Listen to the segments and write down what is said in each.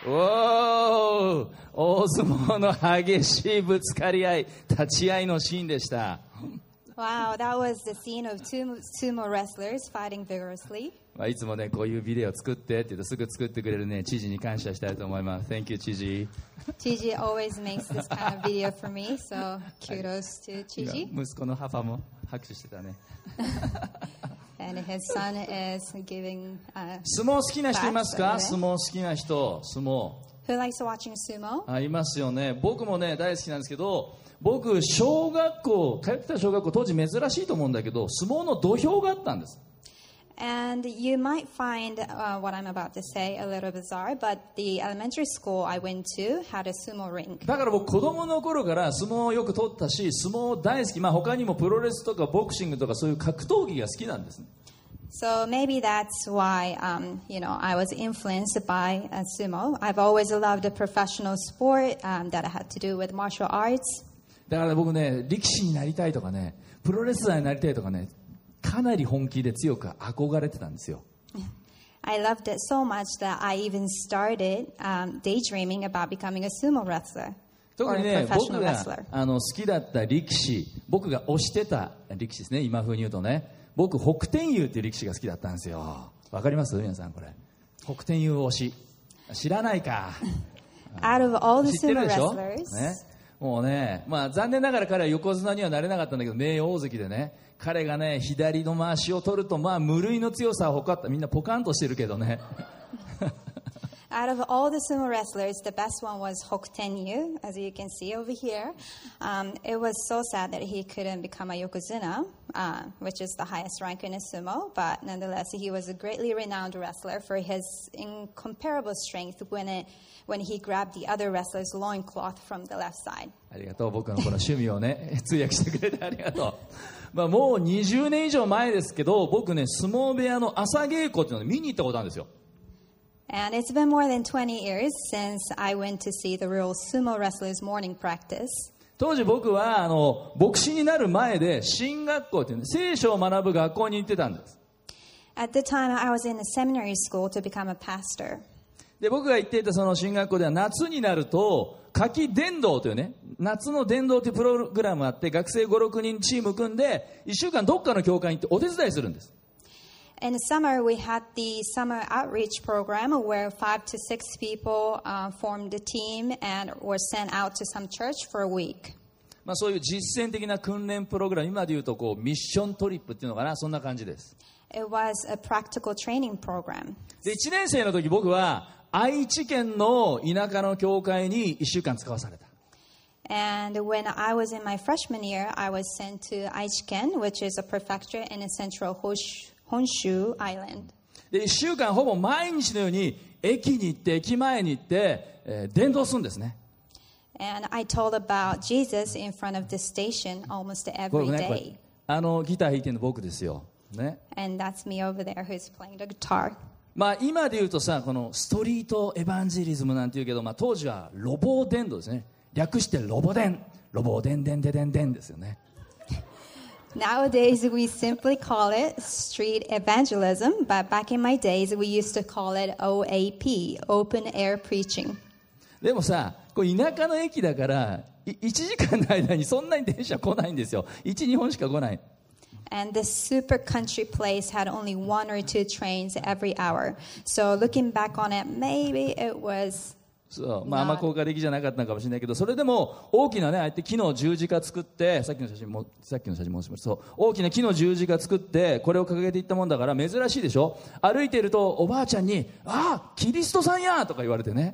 おー、大相撲の激しいぶつかり合い、立ち合いのシーンでした。 Wow, that was the scene of two sumo wrestlers fighting vigorously. いつもね、こういうビデオ作ってって言うとすぐ作ってくれるね、知事に感謝したいと思います。Thank you, 知事。 知事 always makes this kind of video for me, so kudos to 知事。 息子のパパも拍手してたね。 And his son is giving 相撲好きな人いますか？相撲好きな人、相撲。 Who likes watching sumo? いますよね。僕もね、大好きなんですけど、僕、小学校、通ってた小学校、当時珍しいと思うんだけど、相撲の土俵があったんです。 And you might find what I'm about to say a little bizarre, but the elementary school I went to had a sumo ring. だから僕、子供の頃から相撲をよく取ったし、相撲大好き。他にもプロレスとかボクシングとかそういう格闘技が好きなんですね。 So maybe that's why, I was influenced by sumo. I've always loved a professional sport that had to do with martial arts. だから僕ね、力士になりたいとかね、プロレスラーになりたいとかね、かなり本気で強く憧れてたんですよ。 I loved it so much that I even started daydreaming about becoming a sumo wrestler. 特にね、僕が好きだった力士、僕が推してた力士ですね、今風に言うとね、僕、北天佑っていう力士が好きだったんですよ。わかります皆さんこれ。北天佑推し。知らないか。 Out of all the 知ってる sumo でしょ、 wrestlers, ね、もうね、残念ながら彼は横綱にはなれなかったんだけど、名大関でね、彼がね、左の回しを取ると、無類の強さを誇った。みんなポカンとしてるけどね。 Out of all the sumo wrestlers, the best one was Hokten-yu, as you can see over here. It was so sad that he couldn't become a yokozuna, which is the highest rank in a sumo, but nonetheless, he was a greatly renowned wrestler for his incomparable strength when he grabbed the other wrestler's loincloth from the left side. ありがとう。僕のこの趣味をね、通訳してくれてありがとう。もう20年以上前ですけど、僕ね、相撲部屋の朝稽古っていうのを見に行ったことあるんですよ。 And it's been more than 20 years since I went to see the real sumo wrestlers' morning practice. 当時僕は牧師になる前で神学校っていう、ね、聖書を学ぶ学校に行ってたんです。 At the time, I was in a seminary school to become a pastor. で僕が行っていたその神学校では夏になると夏季伝道というね、夏の伝道というプログラムがあって、学生 5,6 人チーム組んで1週間どっかの教会に行ってお手伝いするんです。 In the summer, we had the summer outreach program where 5 to 6 people formed a team and were sent out to some church for a week. そういう実践的な訓練プログラム、今でいうとミッショントリップっていうのかな、そんな感じです。 It was a practical training program. で1年生の時僕は愛知県の田舎の教会に1週間使わされた。 And when I was in my freshman year, I was sent to Aichiken, which is a prefecture in a central Honshu Island. で1週間ほぼ毎日のように駅に行って駅前に行って、伝道するんですね。 And I told about Jesus in front of the station almost every day. ギター弾いてるの僕ですよ。ね。 And that's me over there who's playing the guitar. 今で言うとさ、このストリートエヴァンジェリズムなんて言うけど、当時はロボ伝道ですね。略してロボ伝。ロボ伝伝伝伝伝ですよね。 Nowadays, we simply call it street evangelism, but back in my days, we used to call it OAP, open air preaching. でもさ、田舎の駅だから1時間の間にそんなに電車来ないんですよ。1、2本しか来ない。 And this super country place had only 1 or 2 trains every hour. So looking back on it, maybe it was... そう、あんま効果的じゃなかったのかもしれないけど、それでも大きなね、ああやって木の十字架作って、さっきの写真申します。そう、大きな木の十字架作ってこれを掲げていったもんだから珍しいでしょ。歩いているとおばあちゃんに、キリストさんやとか言われてね。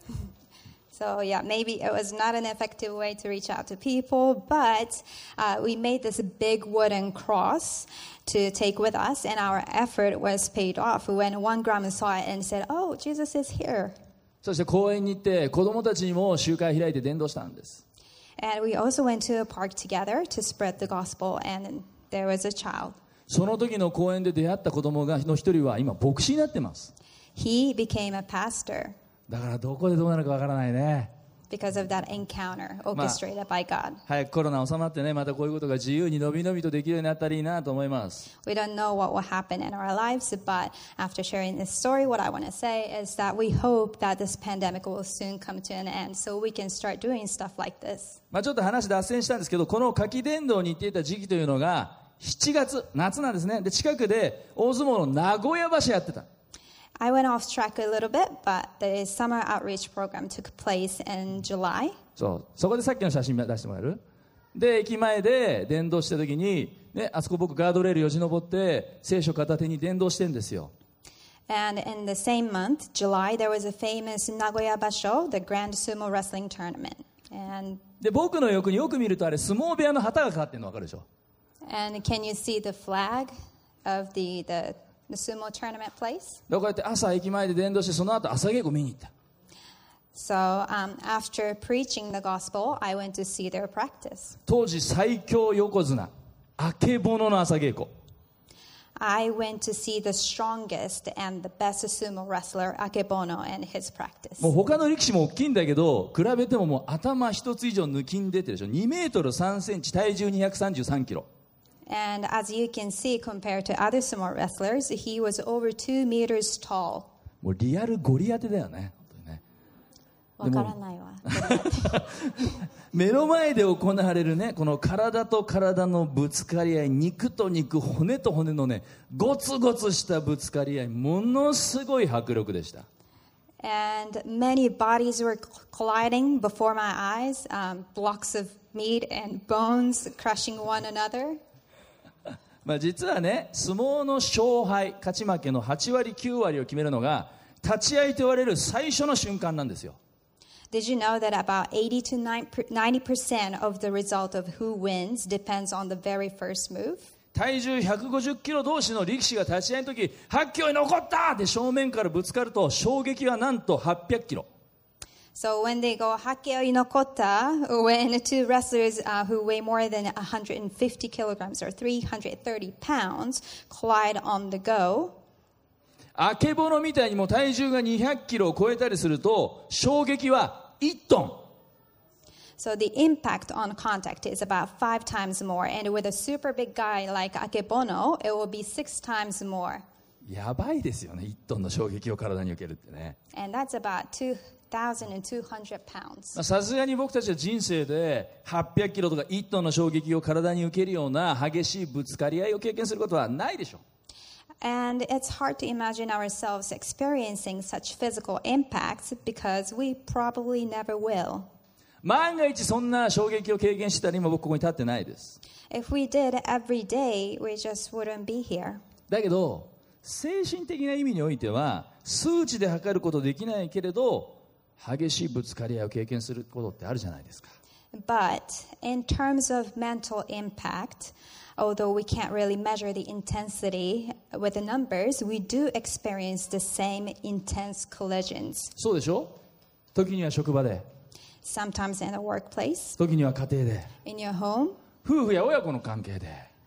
So yeah, maybe it was not an effective way to reach out to people, but we made this big wooden cross to take with us, and our effort was paid off when one grandma saw it and said, "Oh, Jesus is here." そして公園に行って子供たちにも集会開いて伝道したんです。 And we also went to a park together to spread the gospel, and there was a child. その時の公園で出会った子供の一人は今牧師になってます。 He became a pastor. だからどこでどうなるかわからないね。 because of that encounter orchestrated by God. 早くコロナ収まってね、またこういうことが自由にのびのびとできるようになったらいいなと思います。 We don't know what will happen in our lives, but after sharing this story, what I want to say is that we hope that this pandemic will soon come to an end so we can start doing stuff like this. ちょっと話脱線したんですけど、この夏季伝道に行っていた時期というのが7月、夏なんですね。で、近くで大相撲の名古屋場所やってた。 I went off track a little bit, but the summer outreach program took place in July. そこでさっきの写真出してもらえる？で、駅前で伝道した時に、ね、あそこ僕ガードレールよじ登って聖書片手に伝道してるんですよ。 And in the same month, July, there was a famous Nagoya Basho, the Grand Sumo Wrestling Tournament. And で、僕の横によく見るとあれ相撲部屋の旗がかかってるの分かるでしょ？ And can you see the flag of the sumo tournament place? だからこうやって朝駅前で伝道してその後朝稽古見に行った。 So after preaching the gospel, I went to see their practice. 当時最強横綱あけぼのの朝稽古。 I went to see the strongest and the best sumo wrestler, Akebono, and his practice. もう他の力士も大きいんだけど比べてももう頭一つ以上抜きん出てるでしょ。2メートル3センチ体重233キロ。 And as you can see, compared to other sumo wrestlers, he was over 2 meters tall. もうリアルゴリアテだよね。 わからないわ。 目の前で行われるね、この体と体のぶつかり合い、肉と肉、骨と骨のね、ゴツゴツしたぶつかり合い、ものすごい迫力でした。 And many bodies were colliding before my eyes, blocks of meat and bones crushing one another. 実はね、相撲の勝敗、勝ち負けの8割9割を決めるのが立ち合いと言われる最初の瞬間なんですよ。 Did you know that about 80 to 90% of the result of who wins depends on the very first move? 体重150キロ同士の力士が立ち合いの時、8キロに残ったって正面からぶつかると衝撃はなんと800キロ。 So when they go Hakeo Inokota, when two wrestlers who weigh more than 150 kilograms or 330 pounds collide on the go, あけぼのみたいにも体重が200キロを超えたりすると衝撃は1トン。 So the impact on contact is about 5 times more, and with a super big guy like Akebono, it will be 6 times more. やばいですよね、1トンの衝撃を体に受けるってね。 And that's about 2,200 pounds. さすがに僕たちは人生で800キロとか1トンの衝撃を体に受けるような激しいぶつかり合いを経験することはないでしょう。 And it's hard to imagine ourselves experiencing such physical impacts because we probably never will. 万が一そんな衝撃を経験してたら今僕ここに立ってないです。 If we did every day, we just wouldn't be here. だけど精神的な意味においては数値で測ることできないけれど激しいぶつかり合いを経験することってあるじゃないですか。 But in terms of mental impact, although we can't really measure the intensity with the numbers, we do experience the same intense collisions. そうでしょ？時には職場で、 Sometimes in the workplace, 時には家庭で、 in your home, 夫婦や親子の関係で、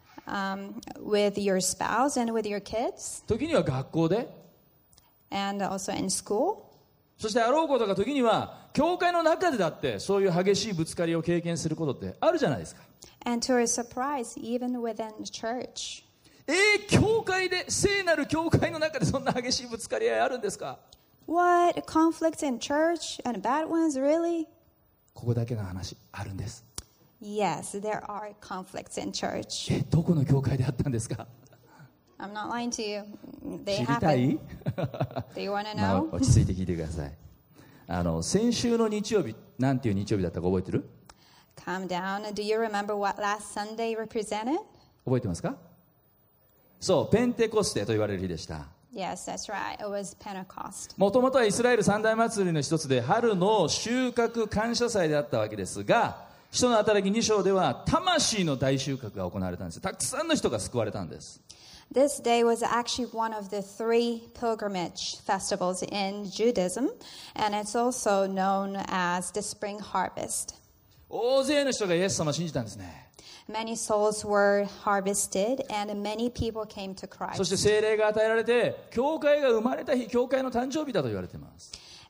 with your spouse and with your kids, 時には学校で、 and also in school. そしてあろうことが時には教会の中でだってそういう激しいぶつかりを経験することってあるじゃないですか。 And to our surprise, even within the church. 教会で、聖なる教会の中でそんな激しいぶつかり合いあるんですか？ What? Conflicts in church and bad ones, really? ここだけの話あるんです。 Yes, there are conflicts in church. どこの教会であったんですか？ I'm not lying to you. 知 They りたい？ happen. Do you want to know? 落ち着いて聞いてください。先週の日曜日、なんていう日曜日だったか覚えてる？ Calm down. Do you remember what last Sunday represented? 覚えてますか？そう、ペンテコステと言われる日でした。 Yes, that's right. It was Pentecost. もともとはイスラエル三大祭りの一つで春の収穫感謝祭であったわけですが、使徒の働き2章では魂の大収穫が行われたんです。たくさんの人が救われたんです。 This day was actually one of the 3 pilgrimage festivals in Judaism, and it's also known as the spring harvest. 大勢の人がイエス様を信じたんですね。 Many souls were harvested, and many people came to そして Christ. 聖霊が与えられて、教会が生まれた日、教会の誕生日だと言われています。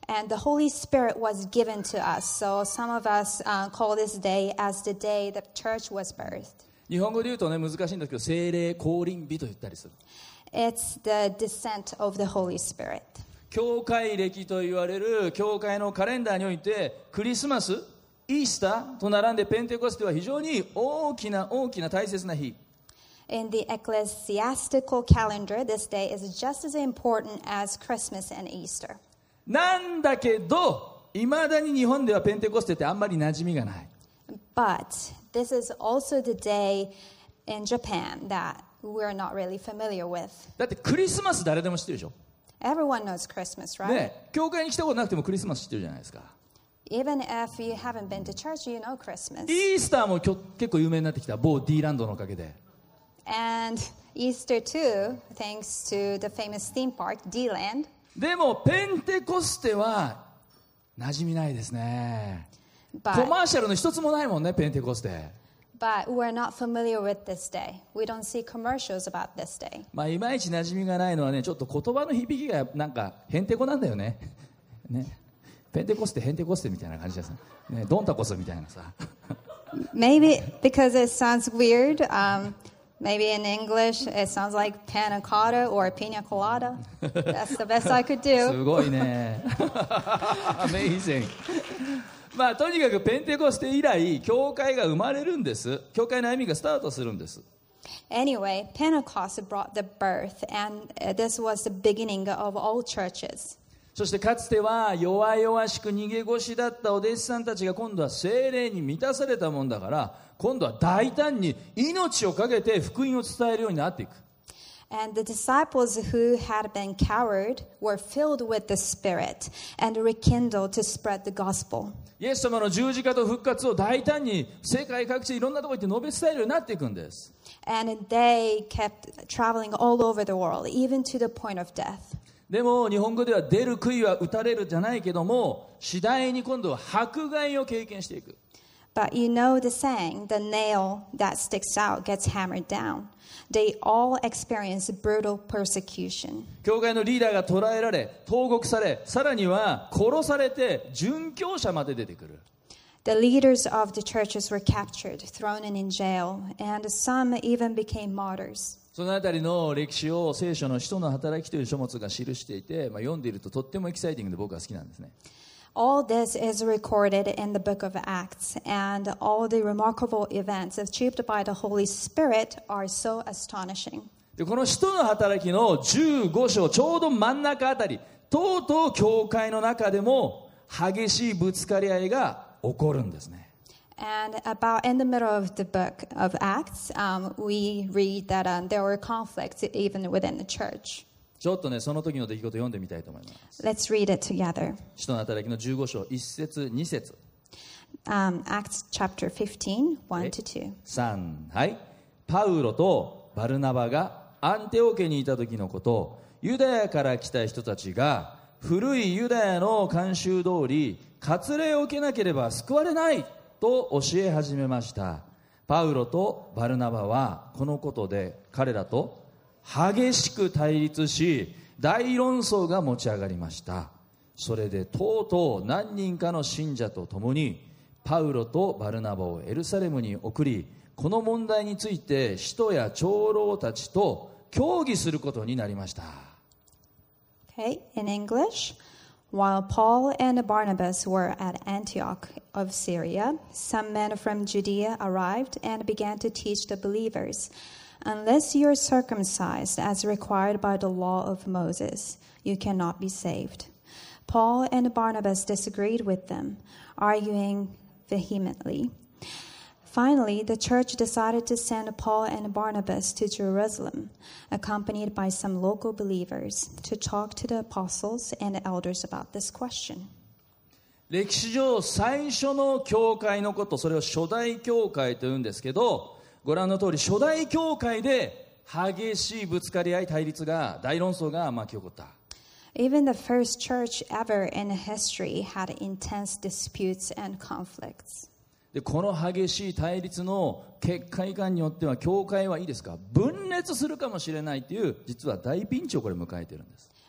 And the Holy Spirit was given to us. So some of us call this day as the day the church was birthed. 日本語で言うとね難しいんですけど聖霊降臨日と言ったりする。 It's the descent of the Holy Spirit. 教会歴と言われる教会のカレンダーにおいてクリスマス、イースターと並んでペンテコステは非常に大きな大切な日。 In the ecclesiastical calendar, this day is just as important as Christmas and Easter. なんだけどいまだに日本ではペンテコステってあんまり馴染みがない。 But this is also the day in Japan that we're not really familiar with. だってクリスマス誰でも知ってるでしょ。 Everyone knows Christmas, right? ね、教会に来たことなくてもクリスマス知ってるじゃないですか。 Even if you haven't been to church, you know Christmas. イースターも結構有名になってきた某 D ランドのおかげで。 And Easter too, thanks to the famous theme park, D-Land. でもペンテコステは馴染みないですね。コ But, マーシャルの一つもないもんねペンテコステ。 but we're not familiar with this day. We don't see commercials about this day. まあいまいち馴染みがないのはねちょっと言葉の響きがなんかヘンテコなんだよね。ね。ペンテコステヘンテコステみたいな感じですね。ドンタコスみたいなさ。 Maybe because it sounds weird. Maybe in English it sounds like panna cotta or pina colada. That's the best I could do. すごいね。Amazing。まあとにかくペンテコステ以来教会が生まれるんです。教会の歩みがスタートするんです。 Anyway, Pentecost brought the birth, and this was the beginning of all churches. そしてかつては弱々しく逃げ腰だったお弟子さんたちが今度は聖霊に満たされたもんだから今度は大胆に命をかけて福音を伝えるようになっていく。 And the disciples who had been coward were filled with the Spirit and rekindled to spread the gospel. イエス様の十字架と復活を大胆に世界各地いろんなところ行って述べ伝えるようになっていくんです。 And they kept traveling all over the world, even to the point of death. でも日本語では出る杭は打たれるじゃないけども次第に今度は迫害を経験していく。 But you know the saying, the nail that sticks out gets hammered down. They all experience brutal persecution. 教会のリーダーが捕らえられ投獄されさらには殺されて殉教者まで出てくる。 The leaders of the churches were captured, thrown in jail, and some even became martyrs. そのあたりの歴史を聖書の使徒の働きという書物が記していて、読んでいるととってもエキサイティングで僕は好きなんですね。 All this is recorded in the book of Acts, and all the remarkable events achieved by the Holy Spirit are so astonishing. でこの使徒の働きの15章ちょうど真ん中あたりとうとう教会の中でも激しいぶつかり合いが起こるんですね。 And about in the middle of the book of Acts, we read that there were conflicts even within the church. ちょっとねその時の出来事を読んでみたいと思います。 Let's read it together. 使徒の働きの15章1節2節 Acts chapter 15, 1 to 2. 3はい。パウロとバルナバがアンテオ家にいた時のこと、ユダヤから来た人たちが古いユダヤの慣習通り割礼を受けなければ救われないと教え始めました。パウロとバルナバはこのことで彼らと激しく対立し大論争が持ち上がりました。それでとうとう何人かの信者と共にパウロとバルナバをエルサレムに送り、この問題について使徒や長老たちと協議することになりました。 Okay, in English. While Paul and Barnabas were at Antioch of Syria, some men from Judea arrived and began to teach the believers, "Unless you are circumcised as required by the law of Moses, you cannot be saved." Paul and Barnabas disagreed with them, arguing vehemently. Finally, the church decided to send Paul and Barnabas to Jerusalem, accompanied by some local believers, to talk to the apostles and elders about this question. 歴史上最初の教会のこと、それを初代教会というんですけど、ご覧の通り初代教会で激しいぶつかり合い対立が大論争が巻き起こった。 Even the first church ever in history had intense disputes and conflicts. でこの激しい対立の結果いかんによっては教会はいいですか分裂するかもしれないという実は大ピンチをこれ迎えているんです。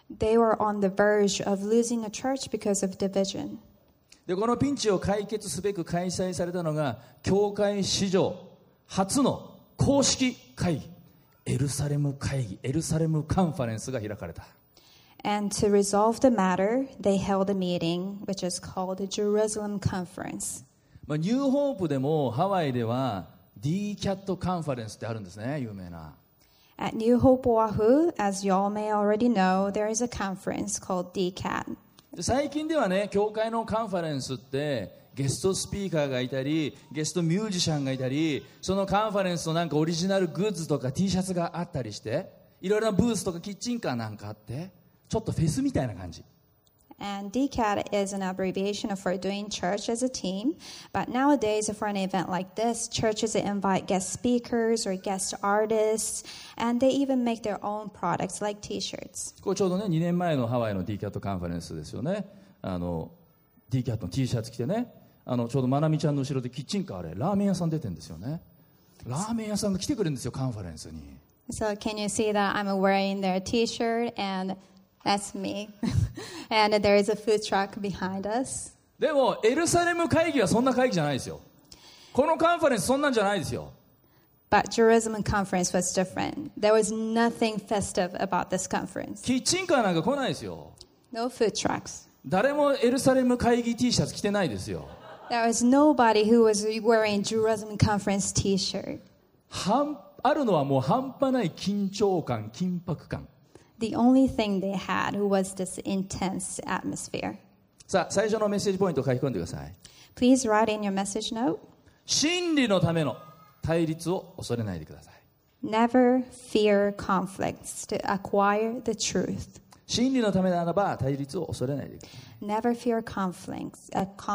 They were on the verge of losing the church because of division. でこのピンチを解決すべく開催されたのが教会史上初の公式会議、エルサレム会議、エルサレムカンファレンスが開かれた。 And to resolve the matter, they held a meeting which is called the Jerusalem Conference. ニューホープでもハワイでは DCAT カンファレンスってあるんですね、有名な。 At New Hope Oahu, as y'all may already know, there is a conference called DCAT. で最近ではね、教会のカンファレンスってゲストスピーカーがいたり、ゲストミュージシャンがいたり、そのカンファレンスのなんかオリジナルグッズとか T シャツがあったりして、いろいろなブースとかキッチンカーなんかあって、ちょっとフェスみたいな感じ。 And DCAT is an abbreviation for doing church as a team. But nowadays, for an event like this, churches invite guest speakers or guest artists, and they even make their own products like T-shirts. これちょうどね、2年前のハワイの DCAT カンファレンスですよね。DCAT の T シャツ着てね、ちょうどまなみちゃんの後ろでキッチンカーでラーメン屋さん出てるんですよね。ラーメン屋さんが来てくれるんですよ、カンファレンスに。 So can you see that I'm wearing their T-shirt and that's me. And there is a food truck behind us. でもエルサレム会議はそんな会議じゃないですよ。このカンファレンスそんなんじゃないですよ。 But Jerusalem conference was different. There was nothing festive about this conference. キッチンカーなんか来ないですよ。 No food trucks. 誰もエルサレム会議 T シャツ着てないですよ。 There was nobody who was wearing Jerusalem conference T-shirt. あるのはもう半端ない緊張感、緊迫感。 The only thing they had was this intense atmosphere. さあ、最初のメッセージポイントを書き込んでください。 Please write in your message note. 真理のための対立を恐れないでください。 Never fear conflicts to acquire the truth. 真理のためならば対立を恐れないでください。 Never fear conflicts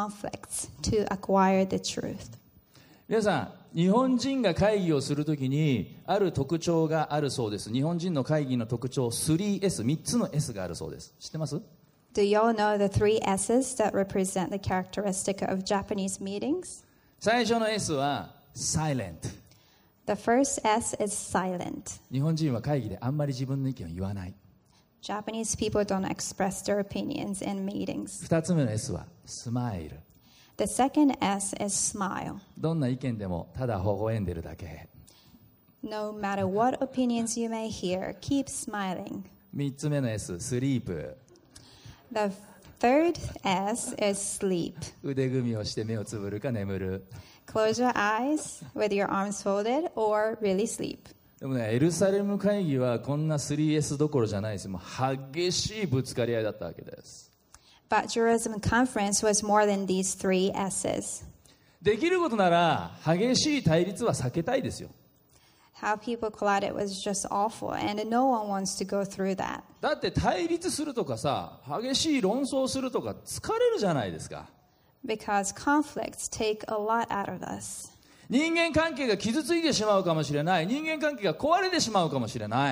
to acquire the truth. 皆さん、日本人が会議をするときにある特徴があるそうです。日本人の会議の特徴 3S、 3つの S があるそうです。知ってます？ Do y'all know the 3 S's that represent the characteristic of Japanese meetings? 最初の S は Silent。 The first S is silent. 日本人は会議であんまり自分の意見を言わない。 Japanese people don't express their opinions in meetings. 2つ目の S は Smile。 The second S is smile. どんな意見でもただ微笑んでるだけ。 No matter what opinions you may hear, keep smiling. 3つ目の S、Sleep。 The third S is sleep. 腕組みをして目をつぶるか眠る。 Close your eyes with your arms folded or really sleep. でもね、エルサレム会議はこんな 3S どころじゃないです。もう激しいぶつかり合いだったわけです。 But Jerusalem conference was more than these 3 S's. できることなら激しい対立は避けたいですよ。 How people collided was just awful, and no one wants to go through that. だって対立するとかさ、激しい論争するとか疲れるじゃないですか。 Because conflicts take a lot out of us. 人間関係が傷ついてしまうかもしれない。人間関係が壊れてしまうかもしれない。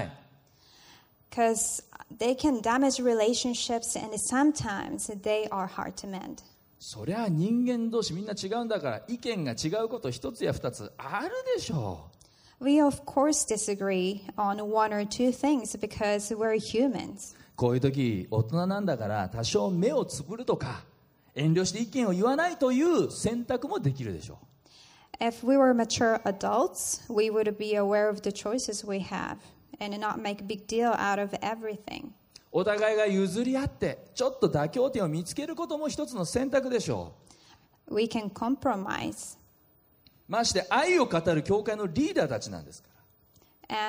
Because they can damage relationships, and sometimes they are hard to mend. そりゃ人間同士みんな違うんだから意見が違うこと一つや二つあるでしょう。 We of course disagree on 1 or 2 things because we're humans. こういう時大人なんだから多少目をつぶるとか遠慮して意見を言わないという選択もできるでしょう。 If we were mature adults, we would be aware of the choices we have and not make a big deal out of everything. お互いが譲り合ってちょっと妥協点を見つけることも一つの選択でしょう。 We can compromise. まして愛を語る教会のリーダーたちなんですから。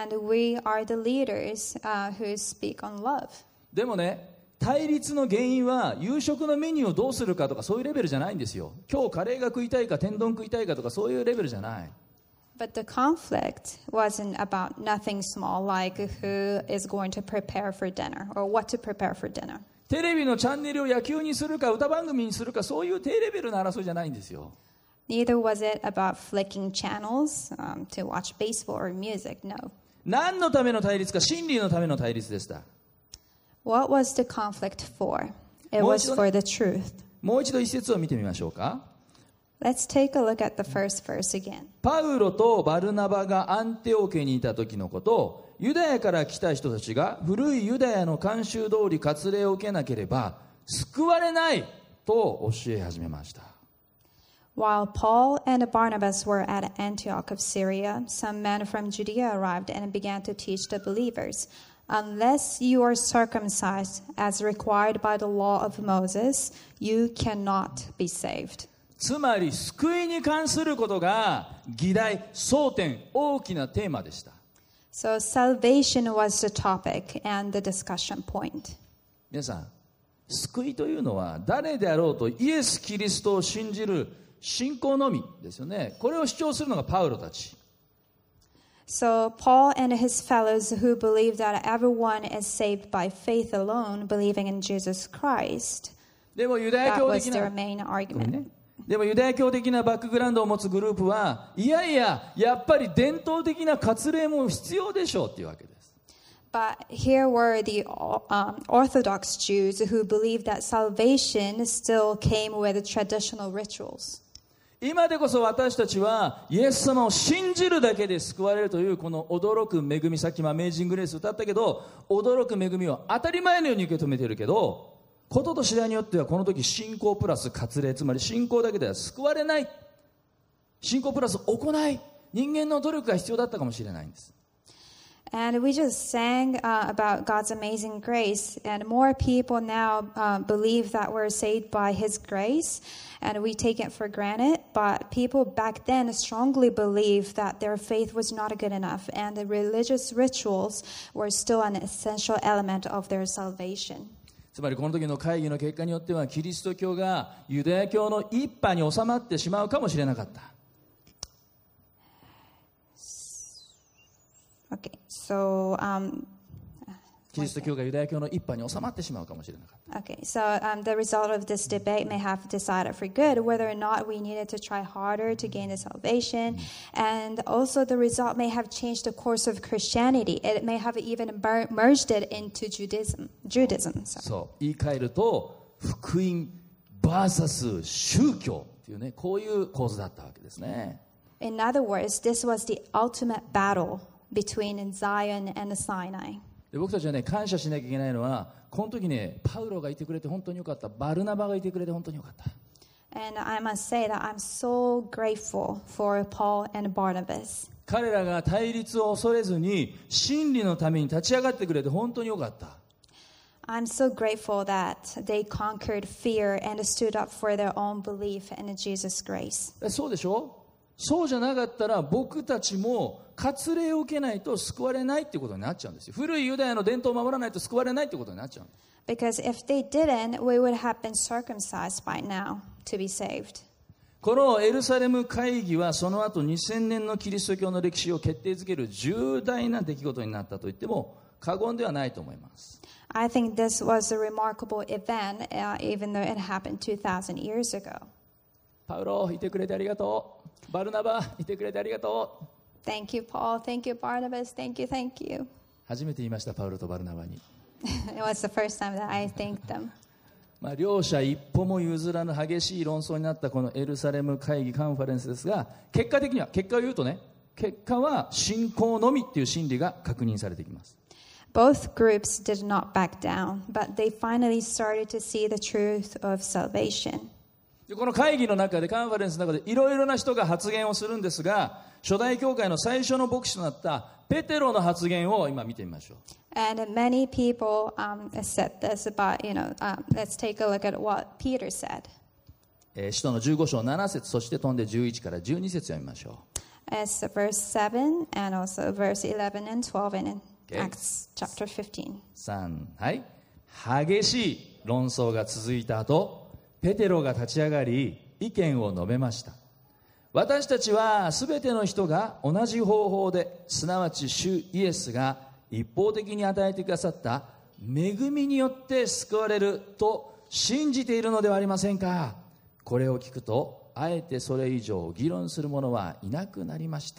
And we are the leaders who speak on love. でもね、対立の原因は夕食のメニューをどうするかとかそういうレベルじゃないんですよ。今日カレーが食いたいか天丼食いたいかとかそういうレベルじゃない。 But the conflict wasn't about nothing small like who is going to prepare for dinner or what to prepare for dinner. テレビのチャンネルを野球にするか歌番組にするかそういう低レベルの争いじゃないんですよ。 Neither was it about flicking channels to watch baseball or music, no. 何のための対立か、真理のための対立でした。 What was the conflict for? It was for the truth. もう一度一節を見てみましょうか。 Let's take a look at the first verse again. パウロとバルナバがアンテオケにいた時のことをユダヤから来た人たちが古いユダヤの慣習通り割礼を受けなければ救われないと教え始めました。 While Paul and Barnabas were at Antioch of Syria, some men from Judea arrived and began to teach the believers, "Unless you are circumcised as required by the law of Moses, you cannot be saved." つまり救いに関することが議題、争点、大きなテーマでした。 So salvation was the topic and the discussion point. 皆さん、救いというのは誰であろうとイエス・キリストを信じる信仰のみですよね。これを主張するのがパウロたち。 So Paul and his fellows who believe that everyone is saved by faith alone, believing in Jesus Christ, でもユダヤ that 教 was 的 their な、 main argument. でもユダヤ教的なバックグラウンドを持つグループはいやいや、やっぱり伝統的な割礼も必要でしょうっていうわけです。 But here were the Orthodox Jews who believed that salvation still came with traditional rituals. 今でこそ私たちはイエス様を信じるだけで救われるというこの驚く恵み、さっきもアメージングレース歌ったけど、驚く恵みを当たり前のように受け止めているけど、ことと次第によってはこの時信仰プラス割礼、つまり信仰だけでは救われない、信仰プラス行い、人間の努力が必要だったかもしれないんです。 And we just sang about God's amazing grace, and more people now believe that we're saved by His grace, and we take it for granted. But people back then strongly believed that their faith was not good enough, and the religious rituals were still an essential element of their salvation. つまりこの時の会議の結果によってはキリスト教がユダヤ教の一派に収まってしまうかもしれなかった。 Okay, so キリスト教がユダヤ教の一派に収まってしまうかもしれなかった。 Okay, so the result of this debate may have decided for good whether or not we needed to try harder to gain the salvation, and also the result may have changed the course of Christianity. It may have even merged it into Judaism. そう言い換えると福音 vs 宗教というね、こういう構図だったわけですね。 In other words, this was the ultimate battle between Zion and Sinai. で僕たちはね、感謝しなきゃいけないのは、この時ね、パウロがいてくれて本当によかった、バルナバがいてくれて本当によかった。 And I must say that I'm so grateful for Paul and Barnabas. 彼らが対立を恐れずに真理のために立ち上がってくれて本当によかった。 I'm so grateful that they conquered fear and stood up for their own belief in Jesus' grace. そうでしょ？そうじゃなかったら僕たちも割礼を受けないと救われないってことになっちゃうんですよ。古いユダヤの伝統を守らないと救われないってことになっちゃう。 Because if they didn't, we would have been circumcised by now to be saved. このエルサレム会議はその後2000年のキリスト教の歴史を決定づける重大な出来事になったと言っても過言ではないと思います。 I think this was a remarkable event, even though it happened 2,000 years ago. パウロ、いてくれてありがとう。バルナバ、いてくれてありがとう。 Thank you, Paul. Thank you, Barnabas. Thank you, thank you. 初めて言いました、パウロとバルナバに。 It was the first time that I thanked them. 両者一歩も譲らぬ激しい論争になったこのエルサレム会議カンファレンスですが、結果的には、結果を言うとね、結果は信仰のみっていう真理が確認されてきます。 Both groups did not back down, but they finally started to see the truth of salvation. この会議の中でカンファレンスの中でいろいろな人が発言をするんですが、初代教会の最初の牧師となったペテロの発言を今見てみましょう。 And many people said this, but let's take a look at what Peter said. 使徒の15章7節、そして飛んで11から12節を見ましょう。 It's verse 7 and also verse 11 and 12 in Acts chapter 15. 3、はい。激しい論争が続いた後、ペテロが立ち上がり意見を述べました。私たちはすべての人が同じ方法で、すなわち主イエスが一方的に与えてくださった恵みによって救われると信じているのではありませんか。これを聞くとあえてそれ以上議論する者はいなくなりました。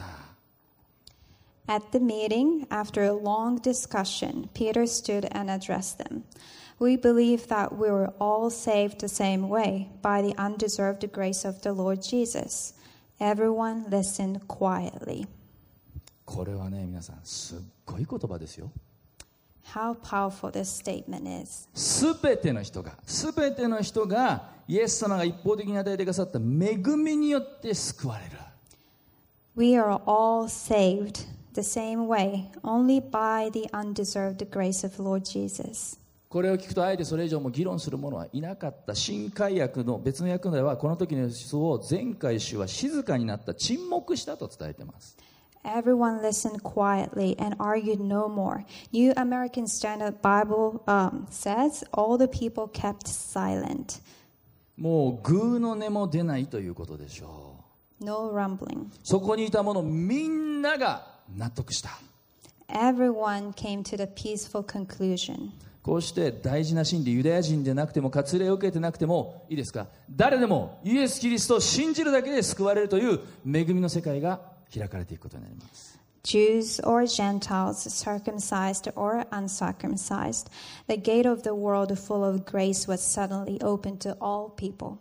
At the meeting, after a long discussion, Peter stood and addressed them. We believe that we were all saved the same way, by the undeserved grace of the Lord Jesus. Everyone listened quietly. これはね、皆さんすっごい言葉ですよ。 How powerful this statement is. すべての人がイエス様が一方的に与えてくださった恵みによって救われる。 We are all saved the same way, only by the undeserved grace of Lord Jesus. これを聞くとあえてそれ以上も議論する者はいなかった。新海訳の別の訳ではこの時の様子を前回主は静かになった、沈黙したと伝えています。 Everyone listened quietly and argued no more. New American Standard Bible says all the people kept silent. もうグーの音も出ないということでしょう。 No rumbling. そこにいた者みんなが納得した。 Everyone came to the peaceful conclusion. こうして大事な真理、ユダヤ人でなくても割礼を受けてなくてもいいですか、誰でもイエス・キリストを信じるだけで救われるという恵みの世界が開かれていくことになります。 Jews or Gentiles, circumcised or uncircumcised, the gate of the world full of grace was suddenly opened to all people.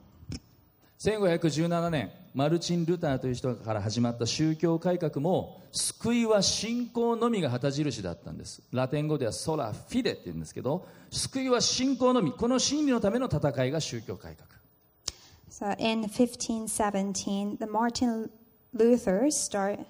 1517年、マルチン・ルターという人から始まった宗教改革も、救いは信仰のみが旗印だったんです。ラテン語ではソラ・フィデって言うんですけど、救いは信仰のみ、この真理のための戦いが宗教改革。 So in 1517, Martin Luther started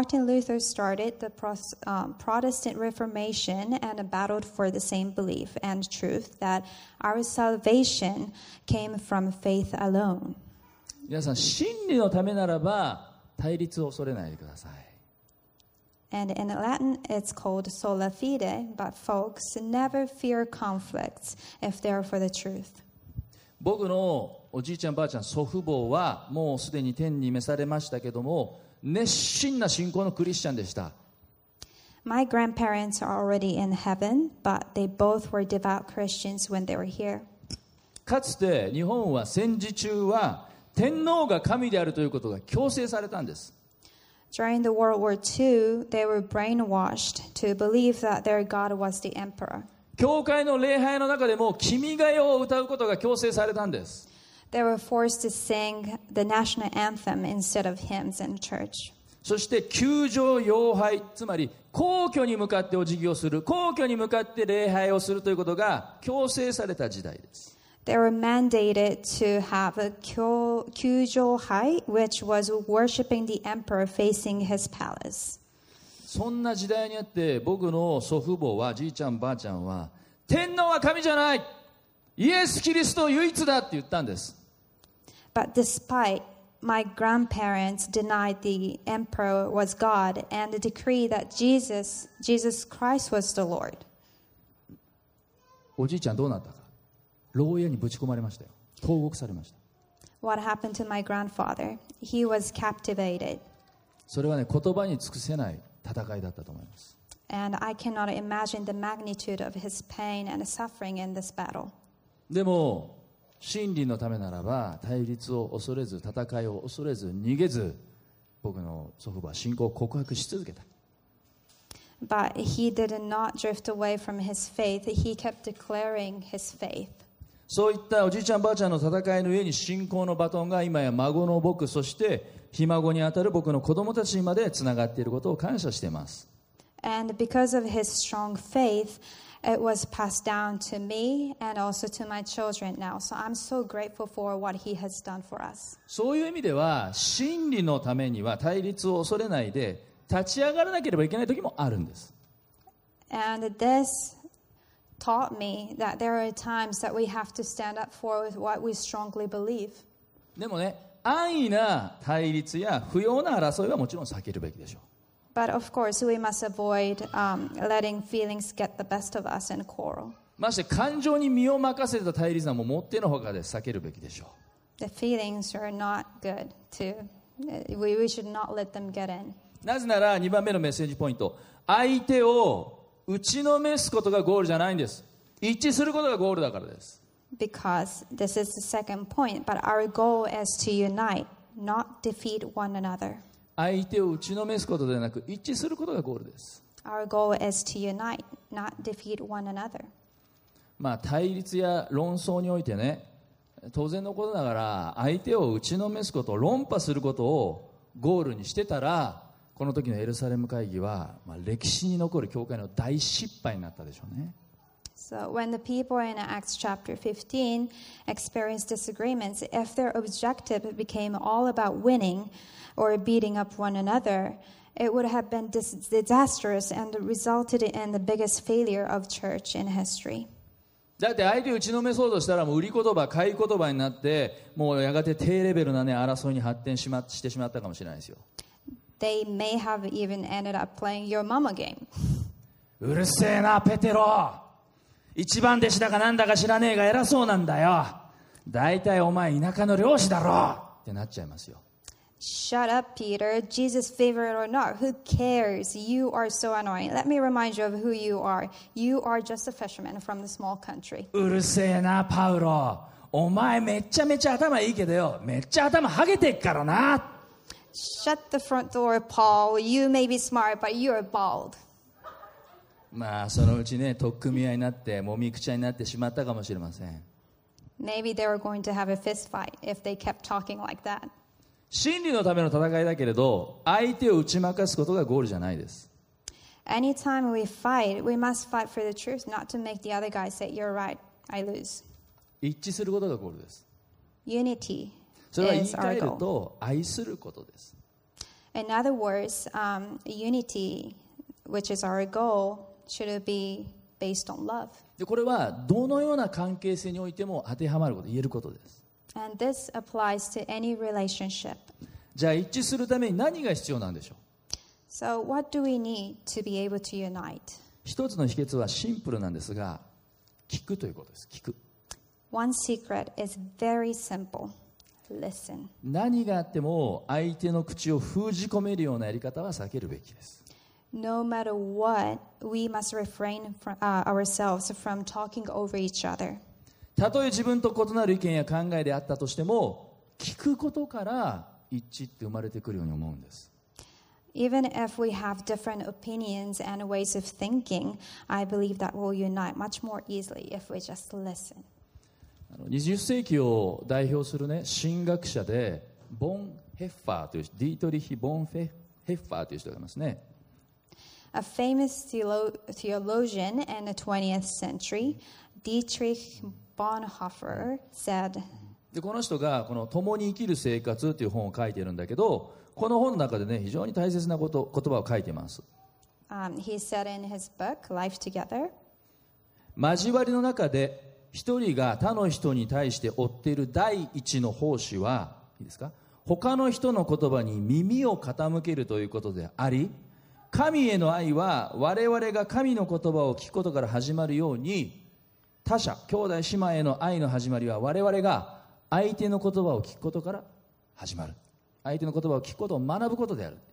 the Protestant Reformation and battled for the same belief and truth that our salvation came from faith alone. 皆さん、真理のためならば対立を恐れないでください。 And in Latin, it's called sola fide, but folks never fear conflicts if they're for the truth. 僕のおじいちゃんばあちゃん祖父母はもうすでに天に召されましたけども、熱心な信仰のクリスチャンでした。 My grandparents are already in heaven, but they both were devout Christians when they were here. かつて日本は戦時中は天皇が神であるということが強制されたんです。 During the World War II, they were brainwashed to believe that their God was the emperor. 教会の礼拝の中でも君が代を歌うことが強制されたんです。 They were forced to sing the national anthem instead of hymns in church. そして宮城礼拝、つまり皇居に向かってお辞儀をする、皇居に向かって礼拝をするということが強制された時代です。 They were mandated to have a kyujo-hai, which was worshiping the emperor facing his palace. そんな時代にあって僕の祖父母は、じいちゃんばあちゃんは、天皇は神じゃない、イエス・キリスト唯一だって言ったんです。 But despite my grandparents denied the emperor was God and decreed that Jesus Christ was the Lord. おじいちゃんどうなったか、牢屋にぶち込まれましたよ。投獄されました。 What happened to my grandfather? He was captivated. それはね、言葉に尽くせない戦いだったと思います。 And I cannot imagine the magnitude of his pain and suffering in this battle. でも真理のためならば対立を恐れず、戦いを恐れず、逃げず、僕の祖父母は信仰を告白し続けた。 But he did not drift away from his faith. He kept declaring his faith. そういったおじいちゃんばあちゃんの戦いの上に信仰のバトンが今や孫の僕、そしてひ孫にあたる僕の子供たちにまでつながっていることを感謝しています。 And because of his strong faith, it was passed down to me and also to my children now. So I'm so grateful for what he has done for us. そういう意味では真理のためには対立を恐れないで立ち上がらなければいけない時もあるんです。 And this taught me that there are times that we have to stand up for what we strongly believe. でもね、安易な対立や不要な争いはもちろん避けるべきでしょう。 But of course, we must avoid letting feelings get the best of us and quarrel. まして感情に身を任せた対立はもうもってのほかで避けるべきでしょう。 The feelings are not good to, we should not let them get in. なぜなら2番目のメッセージポイント、相手を打ちのめすことがゴールじゃないんです。一致することがゴールだからです。 Because this is the second point, but our goal is to unite, not defeat one another. 相手を打ちのめすことではなく一致することがゴールです。 Our goal is to unite, not defeat one another. 対立や論争においてね、当然のことながら相手を打ちのめすこと、論破することをゴールにしてたら、 この時のエルサレム会議は、歴史に残る教会の大失敗になったでしょうね。 So when the people in Acts chapter 15 experienced disagreements, if their objective became all about winning or beating up one another, it would have been disastrous and resulted in the biggest failure of church in history. だって相手を打ちのめそうとしたらもう売り言葉、買い言葉になってもうやがて低レベルな、争いに発展してしまったかもしれないですよ。 They may have even ended up playing your mama game. うるせえなペテロ、一番弟子だかなんだか知らねえが偉そうなんだよ、だいたいお前田舎の漁師だろってなっちゃいますよ。 Shut up, Peter. Jesus' favorite or not, who cares? You are so annoying. Let me remind you of who you are. You are just a fisherman from the small country. うるせえなパウロ、お前めちゃめちゃ頭いいけどよ、めっちゃ頭ハゲてっからな。 Shut the front door, Paul. You may be smart, but you're bald. そのうちね、取っ組み合いになってもみくちゃになってしまったかもしれません。 Maybe they were going to have a fist fight if they kept talking like that. 真理のための戦いだけれど、相手を打ち負かすことがゴールじゃないです。 Anytime we fight, we must fight for the truth, not to make the other guy say, "You're right, I lose." 一致することがゴールです。 Unity それは言い is 換 our える goal. と愛することです。 In other words, unity, which is our goal, should be based on love. でこれはどのような関係性においても当てはまること、言えることです。 And this applies to any relationship. じゃあ一致するために何が必要なんでしょう。 So what do we need to be able to unite? 一つの秘訣はシンプルなんですが、聞くということです。聞く。 One secret is very simple. Listen. 何があっても相手の口を封じ込めるようなやり方は避けるべきです。 No matter what, we must refrain from, ourselves from talking over each other. たとえ自分と異なる意見や考えであったとしても、聞くことから一致って生まれてくるように思うんです。 Even if we have different opinions and ways of thinking, I believe that we'll unite much more easily if we just listen. 20世紀を代表するね、神学者でボン・ヘッファーというディートリヒ・ボン・ヘッファーという人がいますね。 A famous theologian in the 20th century, Dietrich Bonhoeffer, said, でこの人がこの共に生きる生活という本を書いているんだけど、この本の中でね、非常に大切な言葉を書いています。 he said in his book, Life Together, 交わりの中で一人が他の人に対して負っている第一の奉仕は、いいですか、他の人の言葉に耳を傾けるということであり、神への愛は我々が神の言葉を聞くことから始まるように、他者、兄弟姉妹への愛の始まりは我々が相手の言葉を聞くことから始まる。相手の言葉を聞くことを学ぶことである。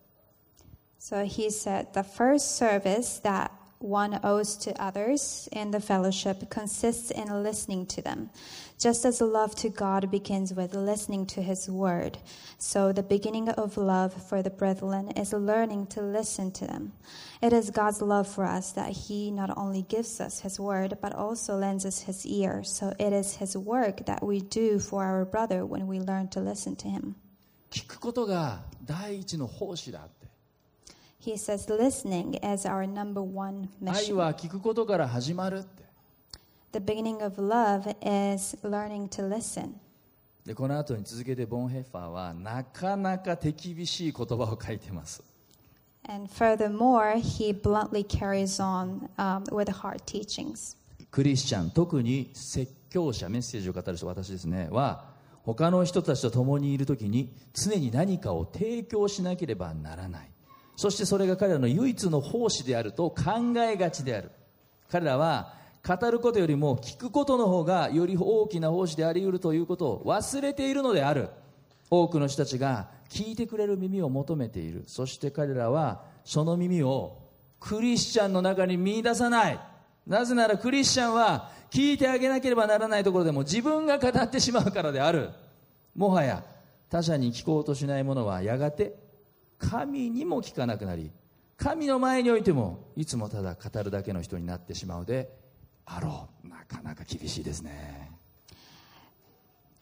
So he said, the first service that one owes to others in the fellowship consists in listening to them. Just as love to God begins with listening to His word, so the beginning of love for the brethren is learning to listen to them. It is God's love for us that He not only gives us His word, but also lends us His ear. So it is His work that we do for our brother when we learn to listen to him. 聞くことが第一の奉仕だって。 He says listening is our number one 愛 mission. は聞くことから始まるって。 The beginning of love is learning to listen. でこの後に続けてボン・ヘッファーはなかなか手厳しい言葉を書いてます。 And furthermore, he bluntly carries on with hard teachings. クリスチャン、特に説教者、メッセージを語る人、私ですね、は他の人たちと共にいるときに常に何かを提供しなければならない。そしてそれが彼らの唯一の奉仕であると考えがちである。彼らは語ることよりも聞くことの方がより大きな奉仕であり得るということを忘れているのである。多くの人たちが聞いてくれる耳を求めている。そして彼らはその耳をクリスチャンの中に見出さない。なぜならクリスチャンは聞いてあげなければならないところでも自分が語ってしまうからである。もはや他者に聞こうとしない者はやがて神にも聞かなくなり、神の前においてもいつもただ語るだけの人になってしまうであろう。なかなか厳しいですね。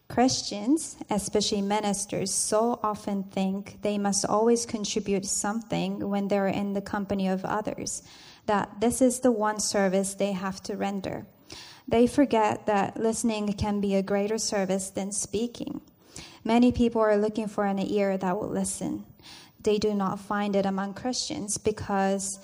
Christians, especially ministers, so often think they must always contribute something when they're in the company of others, that this is the one service they have to render. They forget that listening can be a greater service than speaking. Many people are looking for an ear that will listen. They do not find it among Christians because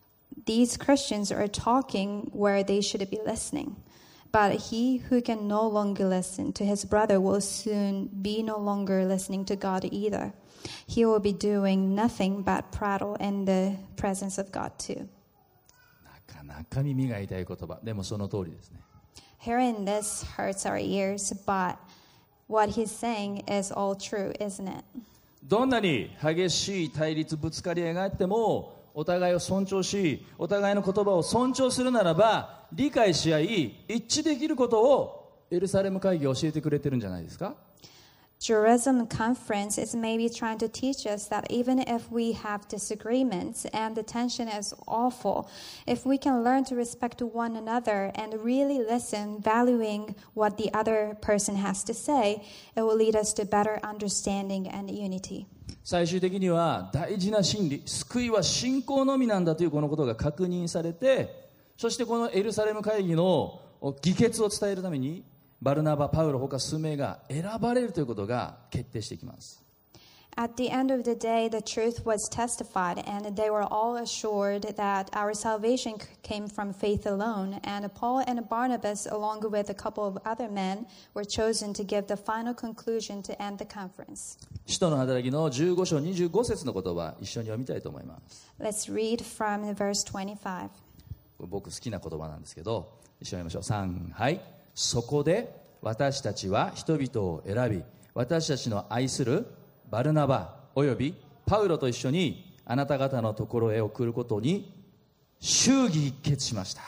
these Christians are talking where they should be listening. But he who can no longer listen to his brother will soon be no longer listening to God either. He will be doing nothing but prattle in the presence of God too. なかなか耳が痛い言葉。でもその通りですね。 Hearing this hurts our ears, but what he's saying is all true, isn't it? どんなに激しい対立ぶつかり合いがあってもお互いを尊重しお互いの言葉を尊重するならば理解し合い一致できることをエルサレム会議は教えてくれてるんじゃないですか。 Jerusalem Conference is maybe trying to teach us that even if we have disagreements and the tension is awful, if we can learn to respect one another and really listen, valuing what the other person has to say, it will lead us to better understanding and unity. 最終的には大事な真理、救いは信仰のみなんだというこのことが確認されて、そしてこのエルサレム会議の議決を伝えるためにバルナバ、パウロ他数名が選ばれるということが決定していきます。 At the end of the day, the truth was testified, and they were all assured that our salvation came from faith alone. And Paul and Barnabas, along with a couple of other men, were chosen to give the final conclusion to end the conference. 使徒の働きの15章25節の言葉、一緒に読みたいと思います。 Let's read from verse 25. 僕好きな言葉なんですけど、一緒に読みましょう。3、はい。そこで私たちは人々を選び、私たちの愛するバルナバおよびパウロと一緒にあなた方のところへ送ることに祝儀一決しました。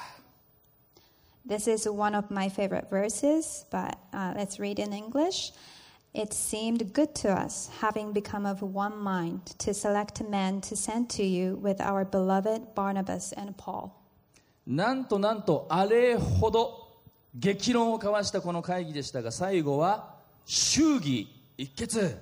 This is one of my favorite verses, but let's read in English. It seemed good to us, having become of one mind, to select men to send to you with our beloved Barnabas and Paul. なんとあれほど激論を交わしたこの会議でしたが、最後は祝儀一決。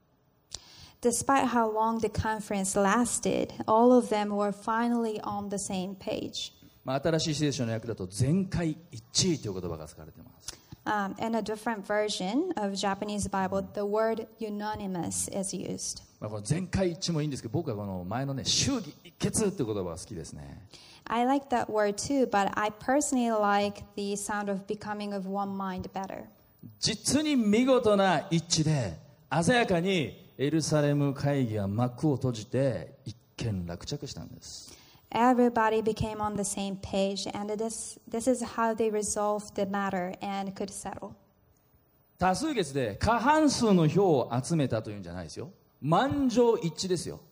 Despite how long the conference lasted, all of them were finally on the same page. 新しい聖書の訳だと全会一致という言葉が使われています。 In a different version of Japanese Bible, the word unanimous is used. この全会一致もいいんですけど、僕はこの前のね、祝儀一決という言葉が好きですね。 I like that word too, but I personally like the sound of becoming of one mind better. 実に見事な一致で鮮やかにエルサレム会議は幕を閉じて一件落着したんです。 Everybody became on the same page, and this is how they resolved the matter and could settle. 多数決で過半数の票を集めたというんじゃないですよ。満場一致ですよ。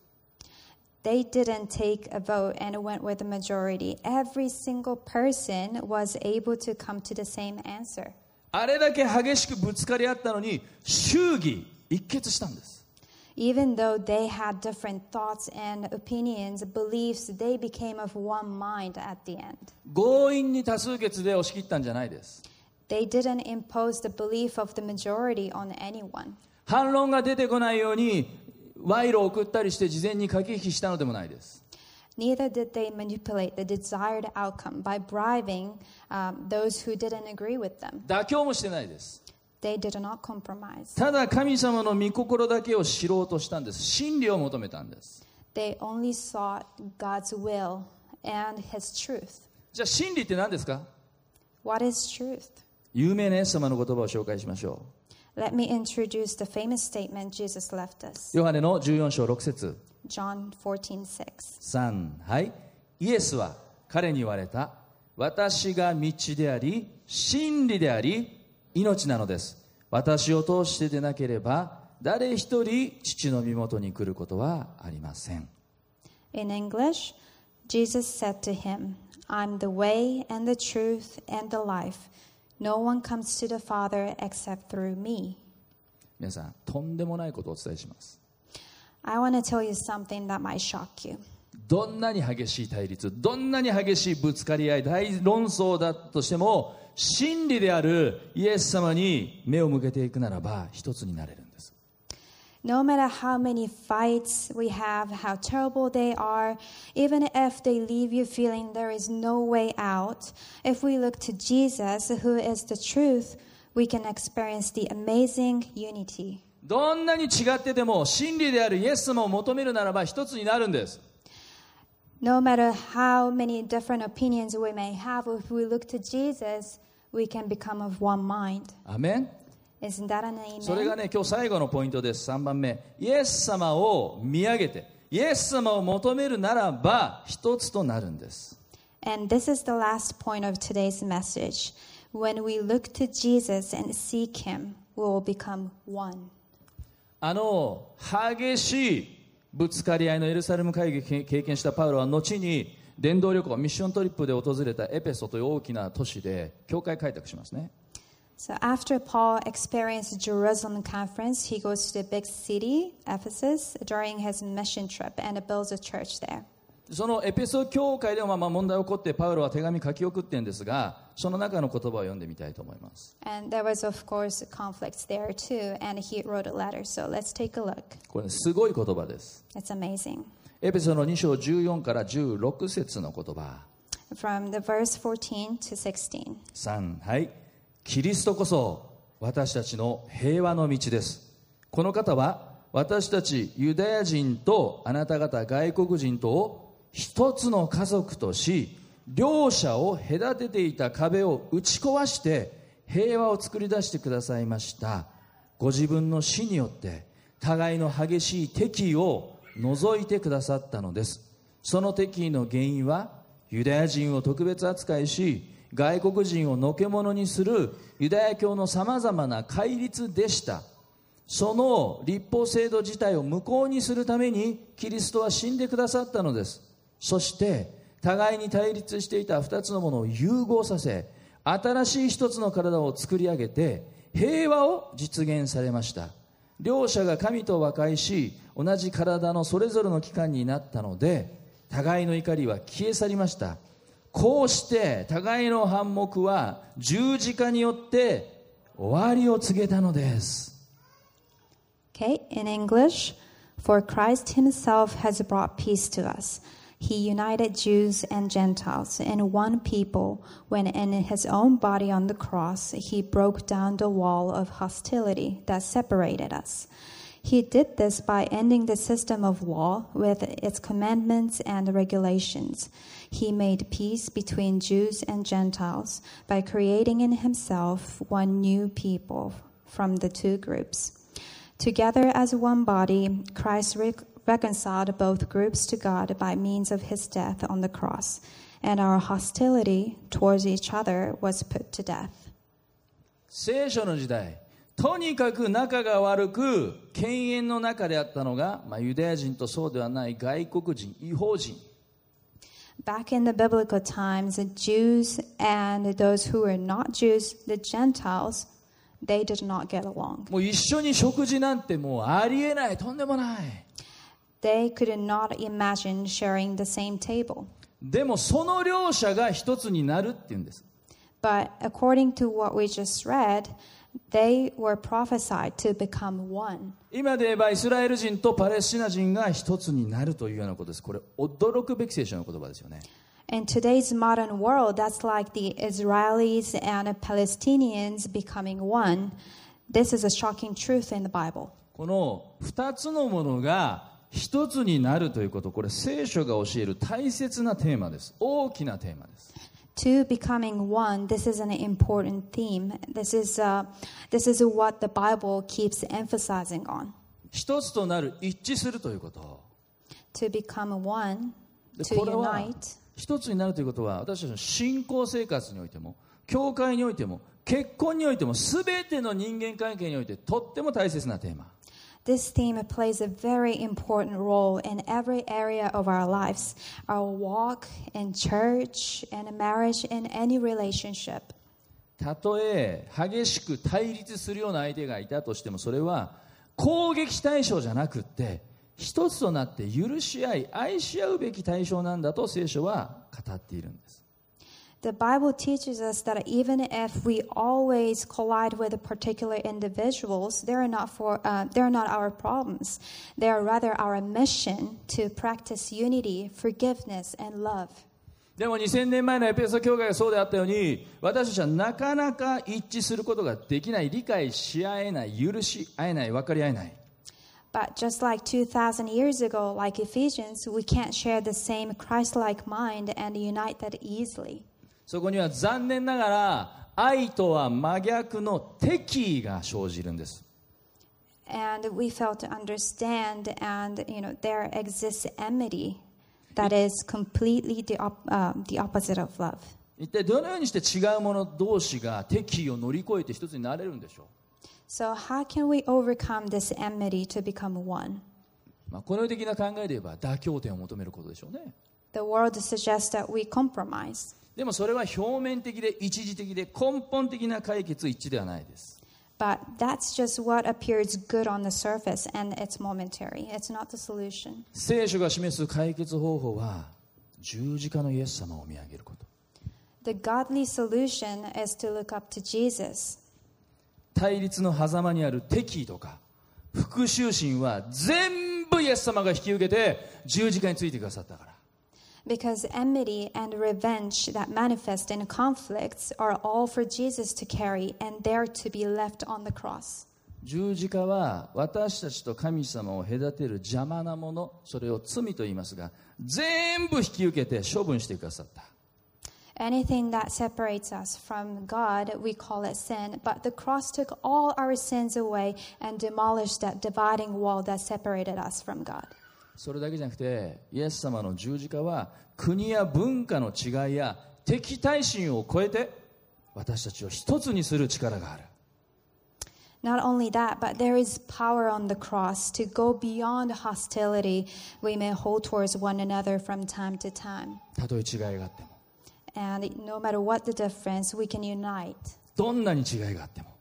They didn't take a vote and went with the majority. Every single person was able to come to the same answer. あれだけ激しくぶつかり合ったのに祝儀一決したんです。 Even though they had different thoughts and opinions, beliefs, they became of one mind at the end. 強引に多数決で押し切ったんじゃないです。 They didn't impose the belief of the majority on anyone. 反論が出てこないように賄賂を送ったりして事前に駆け引きしたのでもないです。 Neither did they manipulate the desired outcome by bribing those who didn't agree with them. 妥協もしてないです。 They did not compromise. ただ神様の御心だけを知ろうとしたんです。真理を求めたんです。 They only sought God's will and His truth. じゃあ真理って何ですか？ What is truth? 有名なイエス様の言葉を紹介しましょう。 Let me introduce the famous statement Jesus left us. ヨハネの14章6節 John 14:6. 3、はい。イエスは彼に言われた。私が道であり、真理であり、命なのです。私を通してでなければ誰一人父の身元に来ることはありません。 In English, Jesus said to him, I'm the way and the truth and the life. No one comes to the Father except through me. 皆さん、とんでもないことをお伝えします。 I want to tell you something that might shock you. どんなに激しい対立、どんなに激しいぶつかり合い、大論争だとしても、 真理であるイエス様に目を向けていくならば一つになれるんです。 No matter how many fights we have, how terrible they are, even if they leave you feeling there is no way out, if we look to Jesus, who is the truth, we can experience the amazing unity. どんなに違ってても真理であるイエス様を求めるならば一つになるんです。 No matter how many different opinions we may have, if we look to Jesus, we can become of one mind. アメン。 Isn't that an amen? それがね、今日最後のポイントです。3番目、イエス様を見上げてイエス様を求めるならば一つとなるんです。 And this is the last point of today's message. When we look to Jesus and seek Him, we will become one. 激しいぶつかり合いのエルサレム会議を経験したパウロは後に伝道旅行ミッショントリップで訪れたエペソという大きな都市で教会開拓しますね。 So after Paul experienced the Jerusalem conference, he goes to the big city, Ephesus, during his mission trip and builds a church there. そのエペソ教会でも問題が起こってパウロは手紙書き送ってるんですが、その中の言葉を読んでみたいと思います。 And there was of course conflicts there too, and he wrote a letter. So let's take a look. これすごい言葉です。 It's amazing. エペソの2章14から16節の言葉。 From the verse 14 to 16. 3、はい。キリストこそ私たちの平和の道です。この方は私たちユダヤ人とあなた方外国人とを一つの家族とし、両者を隔てていた壁を打ち壊して平和を作り出してくださいました。ご自分の死によって互いの激しい敵意を除いてくださったのです。その敵意の原因はユダヤ人を特別扱いし外国人をのけ者にするユダヤ教のさまざまな戒律でした。その律法制度自体を無効にするためにキリストは死んでくださったのです。そして互いに対立していた2つのものを融合させ、新しい一つの体を作り上げて平和を実現されました。両者が神と和解し、同じ体のそれぞれの器官になったので、互いの怒りは消え去りました。こうして互いの反目は十字架によって終わりを告げたのです。 Okay, in English, for Christ himself has brought peace to us. He united Jews and Gentiles in one people when in his own body on the cross, he broke down the wall of hostility that separated us. He did this by ending the system of law with its commandments and regulations. He made peace between Jews and Gentiles by creating in himself one new people from the two groups. Together as one body, Christ reconciled both groups to God by means of his death on the cross, and our hostility towards each other was put to death. 聖書の時代、とにかく仲が悪く犬猿の中であったのが、ユダヤ人とそうではない外国人、異邦人。 Back in the biblical times, the Jews and those who were not Jews, the Gentiles, they did not get along. もう一緒に食事なんてもうありえない、とんでもない。 They could not imagine sharing the same table. でもその両者が一つになるっていうんです。 But according to what we just read, they were prophesied to become one. 今で言えばイスラエル人とパレスチナ人が一つになるというようなことです。これ驚くべき聖書の言葉ですよね。 In today's modern world, that's like the Israelis and Palestinians becoming one. This is a shocking truth in the Bible. この二つのものが一つになるということ、これ聖書が教える大切なテーマです。大きなテーマです。 To becoming one, this is an important theme. This is what the Bible keeps emphasizing on. 一つとなる、一致するということ。 To become one, で to これは unite. 一つになるということは、私たちの信仰生活においても、教会においても、結婚においても、すべての人間関係においてとっても大切なテーマ。 This theme plays a very important role in every area of our lives, our walk in church, in marriage, in any relationship. たとえ激しく対立するような相手がいたとしても、それは攻撃対象じゃなくって、一つとなって許し合い、愛し合うべき対象なんだと聖書は語っているんです。 The Bible teaches us that even if we always collide with particular individuals, they're not our problems. They are rather our mission to practice unity, forgiveness, and love. でも2000年前のエペソ教会がそうであったように、私たちはなかなか一致することができない、理解し合えない、許し合えない、分かり合えない。 But just like 2,000 years ago, like Ephesians, we can't share the same Christ-like mind and unite that easily. そこには残念ながら愛とは真逆の敵意が生じるんです。 And we fail to understand, and there exists enmity that is completely the opposite of love. 一体どのようにして違う者同士が敵意を乗り越えて一つになれるんでしょう。 So how can we overcome this enmity to become one? この世的な考えで言えば妥協点を求めることでしょうね。 The world suggests that we compromise. でもそれは表面的で一時的で根本的な解決一致ではないです。 But that's just what appears good on the surface, and it's momentary. It's not the solution. 聖書が示す解決方法は十字架のイエス様を見上げること。 The godly solution is to look up to Jesus. 対立の狭間にある敵意とか復讐心は全部イエス様が引き受けて十字架についてくださったから。 Because enmity and revenge that manifest in conflicts are all for Jesus to carry, and they're to be left on the cross. 十字架は私たちと神様を隔てる邪魔なもの、それを罪と言いますが、全部引き受けて処分してくださった。 Anything that separates us from God, we call it sin, but the cross took all our sins away and demolished that dividing wall that separated us from God. それだけじゃなくて、イエス様の十字架は国や文化の違いや敵対心を超えて私たちを一つにする力がある。 Not only that, but there is power on the cross to go beyond hostility we may hold towards one another from time to time. たとえ違いがあっても、 And no matter what the difference, we can unite. どんなに違いがあっても、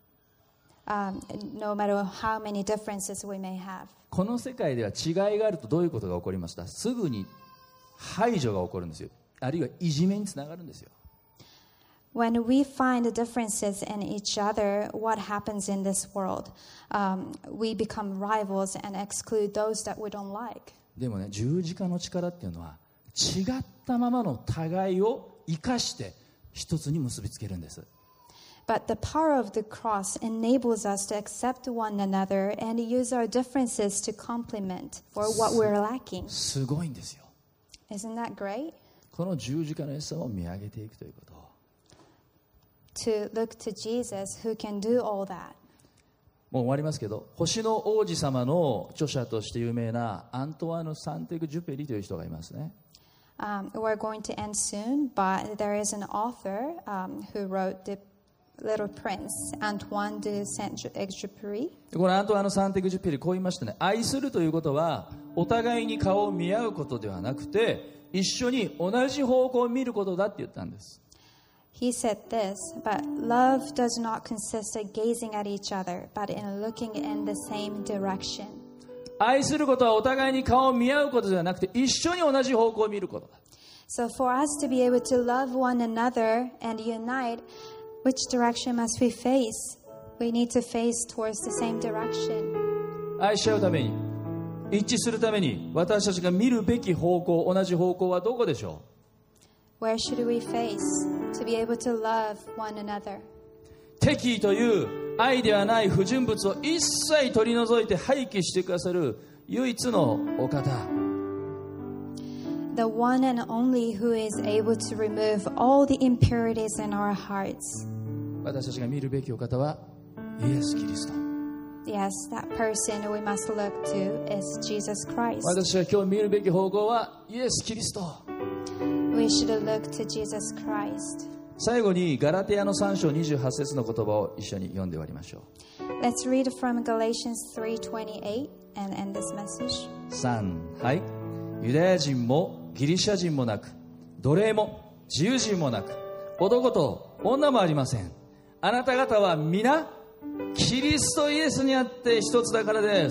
no matter how many differences we may have. この世界では違いがあるとどういうことが起こりますか？すぐに排除が起こるんですよ。あるいはいじめにつながるんですよ。 When we find the differences in each other, what happens in this world? We become rivals and exclude those that we don't like. でもね、十字架の力っていうのは違ったままの互いを生かして一つに結びつけるんです。 But the power of the cross enables us to accept one another and use our differences to complement for what we're lacking. すごいんですよ。 Isn't that great? この十字架のイエス様を見上げていくということ。 To look to Jesus who can do all that. もう終わりますけど、星の王子様の著者として有名なアントワーヌ・サンテグジュペリという人がいますね。 We're going to end soon, but there is an author who wrote the Little Prince, Antoine de Saint-Exupéry. このアントワーヌ・サンテグジュペリこう言いましたね。愛するということはお互いに顔を見合うことではなくて、一緒に同じ方向を見ることだって言ったんです。 He said this, but love does not consist of gazing at each other, but in looking in the same direction. 愛することはお互いに顔を見合うことではなくて、一緒に同じ方向を見ることだ。 So for us to be able to love one another and unite, which direction must we face? We need to face towards the same direction. 愛し合うために、一致するために、私たちが見るべき方向、同じ方向はどこでしょう？ Where should we face to be able to love one another? 敵意という愛ではない不純物を一切取り除いて廃棄してくださる唯一のお方。 The one and only who is able to remove all the impurities in our hearts. 私たちが見るべきお方はイエス・キリスト。 Yes, that person we must look to is Jesus Christ. 私が今日見るべき方向はイエス・キリスト。 We should look to Jesus Christ. 最後にガラテヤの3章28節の言葉を一緒に読んで終わりましょう。 Let's read from Galatians 3:28 and end this message. 3、はい。ユダヤ人もギリシャ人もなく、奴隷も自由人もなく、男と女もありません。あなた方は皆キリストイエスにあって一つだからです。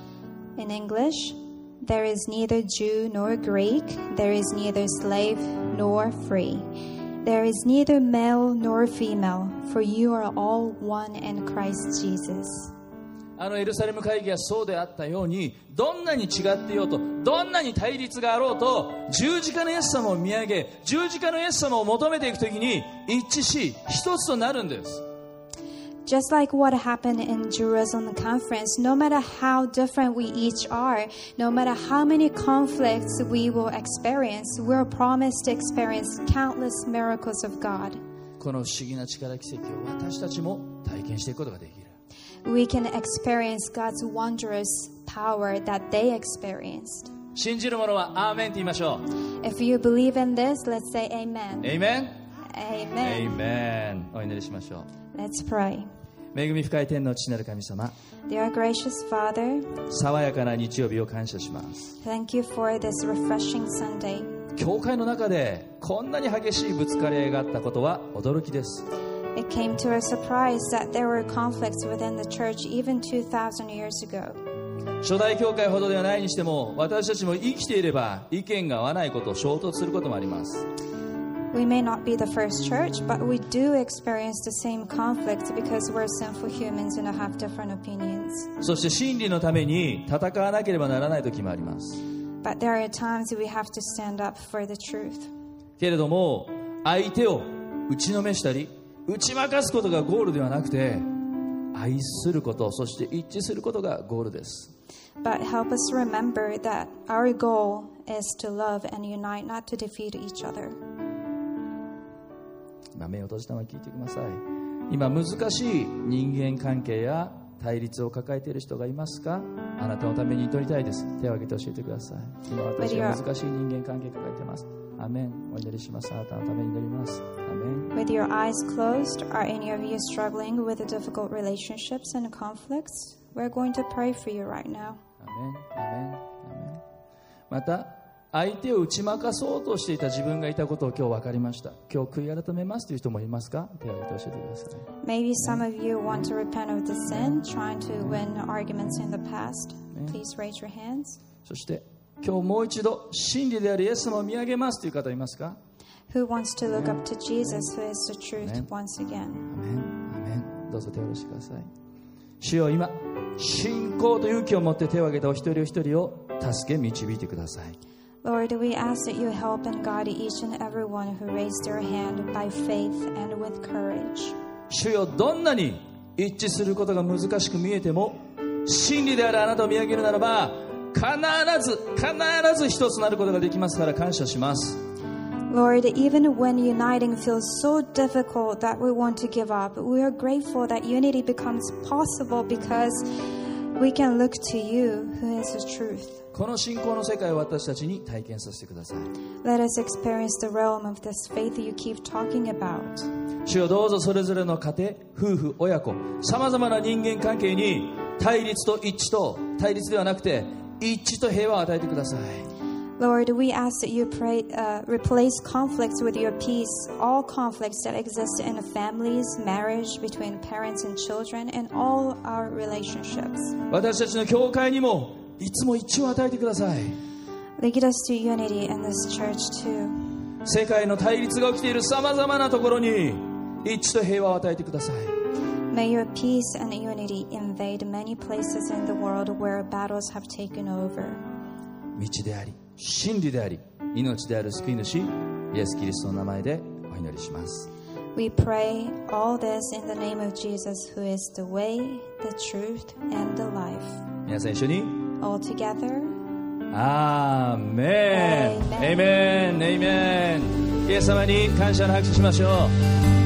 In English, there is neither Jew nor Greek, there is neither slave nor free. There is neither male nor female, for you are all one in Christ Jesus. エルサレム会議がそうであったように、どんなに違っていようと、どんなに対立があろうと、十字架のイエス様を見上げ、十字架のイエス様を求めていくときに一致し、一つとなるんです。 Just like what happened in Jerusalem conference, no matter how different we each are, no matter how many conflicts we will experience, we're promised to experience countless miracles of God. この不思議な力奇跡を私たちも体験していくことができる。 We can experience God's wondrous power that they experienced. 信じる者はアーメンと言いましょう。 If you believe in this, let's say amen. Amen? Amen. Amen. お祈りしましょう。 Let's pray. 恵み深い天の父なる神様、 Dear gracious Father, 爽やかな日曜日を感謝します。 thank you for this refreshing Sunday. 教会の中でこんなに激しいぶつかり合いがあったことは驚きです。 It came to our surprise that there were conflicts within the church even 2,000 years ago. 初代教会ほどではないにしても、私たちも生きていれば意見が合わないこと、衝突することもあります。 We may not be the first church, but we do experience the same conflicts because we're sinful humans and have different opinions. そして真理のために戦わなければならない時もあります。 But there are times we have to stand up for the truth. けれども、相手を打ちのめしたり打ち負かすことがゴールではなくて、愛すること、そして一致することがゴールです。 But help us remember that our goal is to love and unite, not to defeat each other. 目を閉じたまま聞いてください。今難しい人間関係や対立を抱えている人がいますか？あなたのために祈りたいです。手を挙げて教えてください。今私は難しい人間関係を抱えています。アメン。お祈りします。あなたのために祈ります。アメン。 With your eyes closed, are any of you struggling with the difficult relationships and conflicts? We're going to pray for you right now. アメン。アメン。アメン。また相手を打ち負かそうとしていた自分がいたことを今日分かりました。今日悔い改めますという人もいますか？手を挙げて教えてください。 Maybe some of you want to repent of the sin, trying to win arguments in the past. Please raise your hands. そして今日もう一度真理であるイエス様を見上げますという方いますか？ Who wants to look up to Jesus, who is the truth, once again? アメン。アメン。どうぞ手を下ろしてください。主よ、今信仰と勇気を持って手を挙げたお一人お一人を助け導いてください。 Lord, we ask that you help and guide each and every one who raised their hand by faith and with courage. 主よ、どんなに一致することが難しく見えても、真理であるあなたを見上げるならば、必ず一つなることができますから感謝します。 Lord, even when uniting feels so difficult that we want to give up, we are grateful that unity becomes possible because we can look to you, who is the truth. この信仰の世界を私たちに体験させてください。 Let us experience the realm of this faith you keep talking about. 主よ、どうぞそれぞれの家庭、夫婦、親子、さまざまな人間関係に対立と一致と、対立ではなくて一致と平和を与えてください。 Lord, we ask that you replace conflicts with your peace, all conflicts that exist in families, marriage, between parents and children, and all our relationships. 私たちの教会にもいつも一致を与えてください。 Lead us to unity in this church too. 世界の対立が起きているさまざまなところに一致と平和を与えてください。 May your peace and unity invade many places in the world where battles have taken over. 道であり、真理であり、命である救い主イエス・キリストの名前でお祈りします。 We pray all this in the name of Jesus, who is the way, the truth, and the life. 皆さん一緒に All together. アーメン。エイメン。エイメン。イエス様に感謝の拍手しましょう。